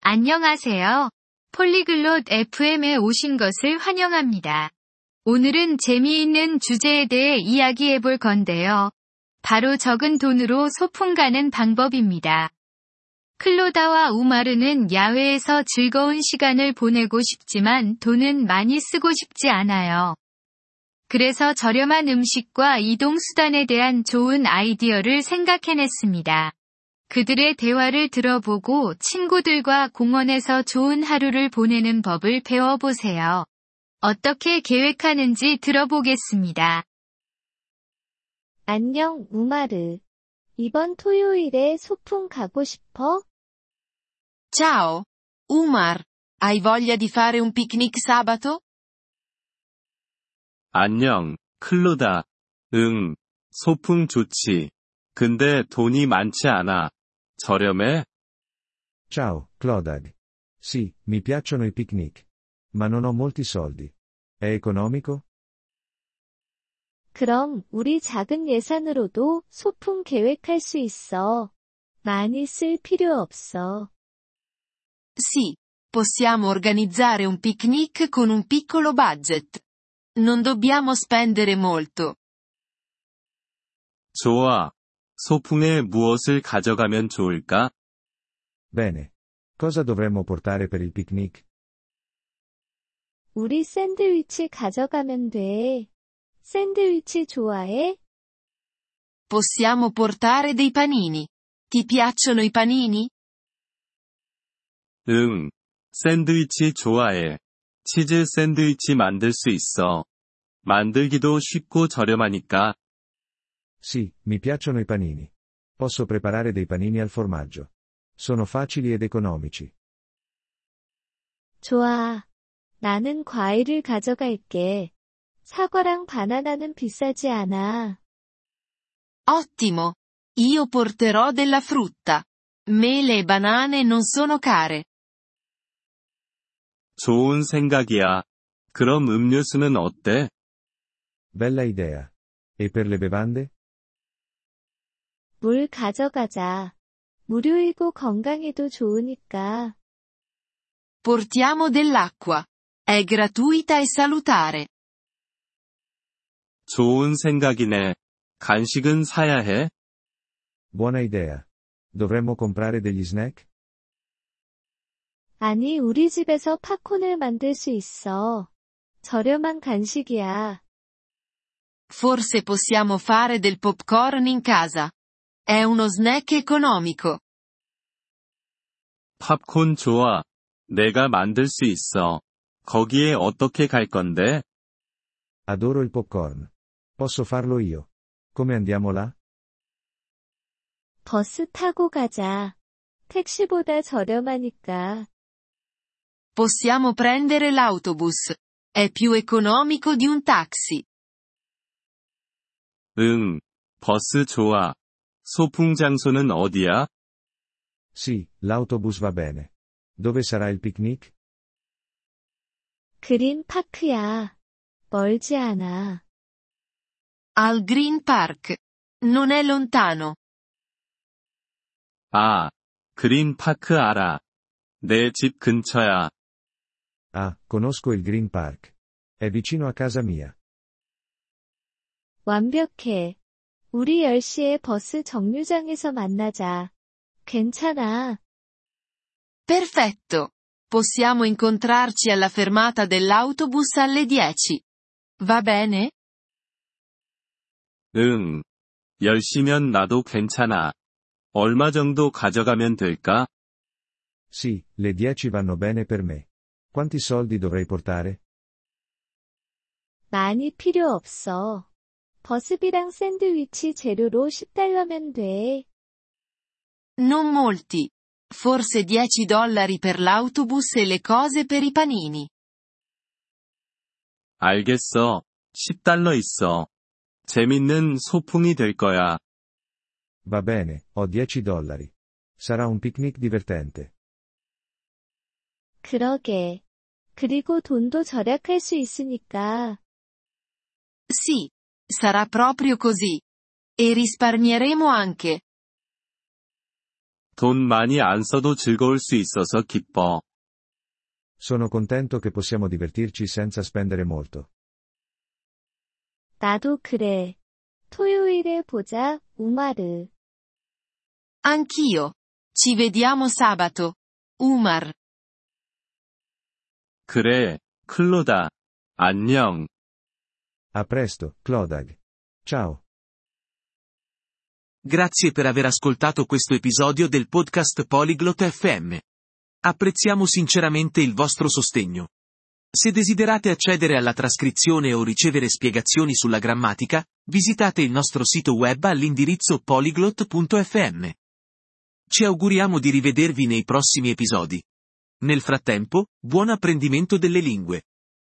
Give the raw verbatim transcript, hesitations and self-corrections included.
안녕하세요. 폴리글롯 에프엠에 오신 것을 환영합니다. 오늘은 재미있는 주제에 대해 이야기해 볼 건데요. 바로 적은 돈으로 소풍 가는 방법입니다. 클로다와 우마르는 야외에서 즐거운 시간을 보내고 싶지만 돈은 많이 쓰고 싶지 않아요. 그래서 저렴한 음식과 이동 수단에 대한 좋은 아이디어를 생각해냈습니다. 그들의 대화를 들어보고 친구들과 공원에서 좋은 하루를 보내는 법을 배워보세요. 어떻게 계획하는지 들어보겠습니다. 안녕, 우마르. 이번 토요일에 소풍 가고 싶어? Ciao, Umar. Hai voglia di fare un picnic sabato? 안녕, 클로다. 응, 소풍 좋지. 근데 돈이 많지 않아. 저렴해? Ciao, Clodagh. Sì, mi piacciono i picnic. Ma non ho molti soldi. È economico? 그럼 우리 작은 예산으로도 소풍 계획할 수 있어. 많이 쓸 필요 없어. Sì, possiamo organizzare un picnic con un piccolo budget. Non dobbiamo spendere molto. 좋아. 소풍에 무엇을 가져가면 좋을까? Bene. Cosa dovremmo portare per il picnic? 우리 샌드위치 가져가면 돼. 샌드위치 좋아해? Possiamo portare dei panini. Ti piacciono i panini? 응. 샌드위치 좋아해. 치즈 샌드위치 만들 수 있어. 만들기도 쉽고 저렴하니까. Sì, mi piacciono i panini. Posso preparare dei panini al formaggio. Sono facili ed economici. 좋아. 나는 과일을 가져갈게. 사과랑 바나나는 비싸지 않아. Ottimo. Io porterò della frutta. Mele e banane non sono care. 좋은 생각이야. 그럼 음료수는 어때? Bella idea. E per le bevande? 물 가져가자. 무료이고 건강에도 좋으니까. Portiamo dell'acqua. È gratuita e salutare. 좋은 생각이네. 간식은 사야 해? Buona idea. Dovremmo comprare degli snack? 아니, 우리 집에서 팝콘을 만들 수 있어. 저렴한 간식이야. Forse possiamo fare del popcorn in casa. È uno snack economico. 팝콘 좋아. 내가 만들 수 있어. 거기에 어떻게 갈 건데? Adoro il popcorn. Posso farlo io. Come andiamo là? 버스 타고 가자. 택시보다 저렴하니까. Possiamo prendere l'autobus. È più economico di un taxi. 응. 버스 좋아. 소풍 장소는 어디야? Sì, l'autobus va bene. Dove sarà il picnic? 그린 파크야. 멀지 않아. Al Green Park. Non è lontano. 아, 그린 파크 알아. 내 집 근처야. Ah, conosco il Green Park. È vicino a casa mia. 완벽해. 우리 열 시에 버스 정류장에서 만나자. 괜찮아. Perfetto. Possiamo incontrarci alla fermata dell'autobus alle dieci. Va bene? 응. 열 시면 나도 괜찮아. 얼마 정도 가져가면 될까? Sì, le dieci vanno bene per me. Quanti soldi dovrei portare? 많이 필요 없어. 버스비랑 샌드위치 재료로 십 달러면 돼. Non molti. Forse dieci dollari per l'autobus e le cose per i panini. 알겠어. 십 달러 있어. 재밌는 소풍이 될 거야. Va bene, ho dieci dollari. Sarà un picnic divertente. 그러게. 그리고 돈도 절약할 수 있으니까. Sì. Sarà proprio così. E risparmieremo anche. 돈 많이 안 써도 즐거울 수 있어서 기뻐. Sono contento che possiamo divertirci senza spendere molto. 나도 그래. 토요일에 보자, 우마르. Anch'io. Ci vediamo sabato. Umar. 그래, 클로다. 안녕. A presto, Clodag. Ciao. Grazie per aver ascoltato questo episodio del podcast Polyglot F M. Apprezziamo sinceramente il vostro sostegno. Se desiderate accedere alla trascrizione o ricevere spiegazioni sulla grammatica, visitate il nostro sito web all'indirizzo polyglot punto f m. Ci auguriamo di rivedervi nei prossimi episodi. Nel frattempo, buon apprendimento delle lingue.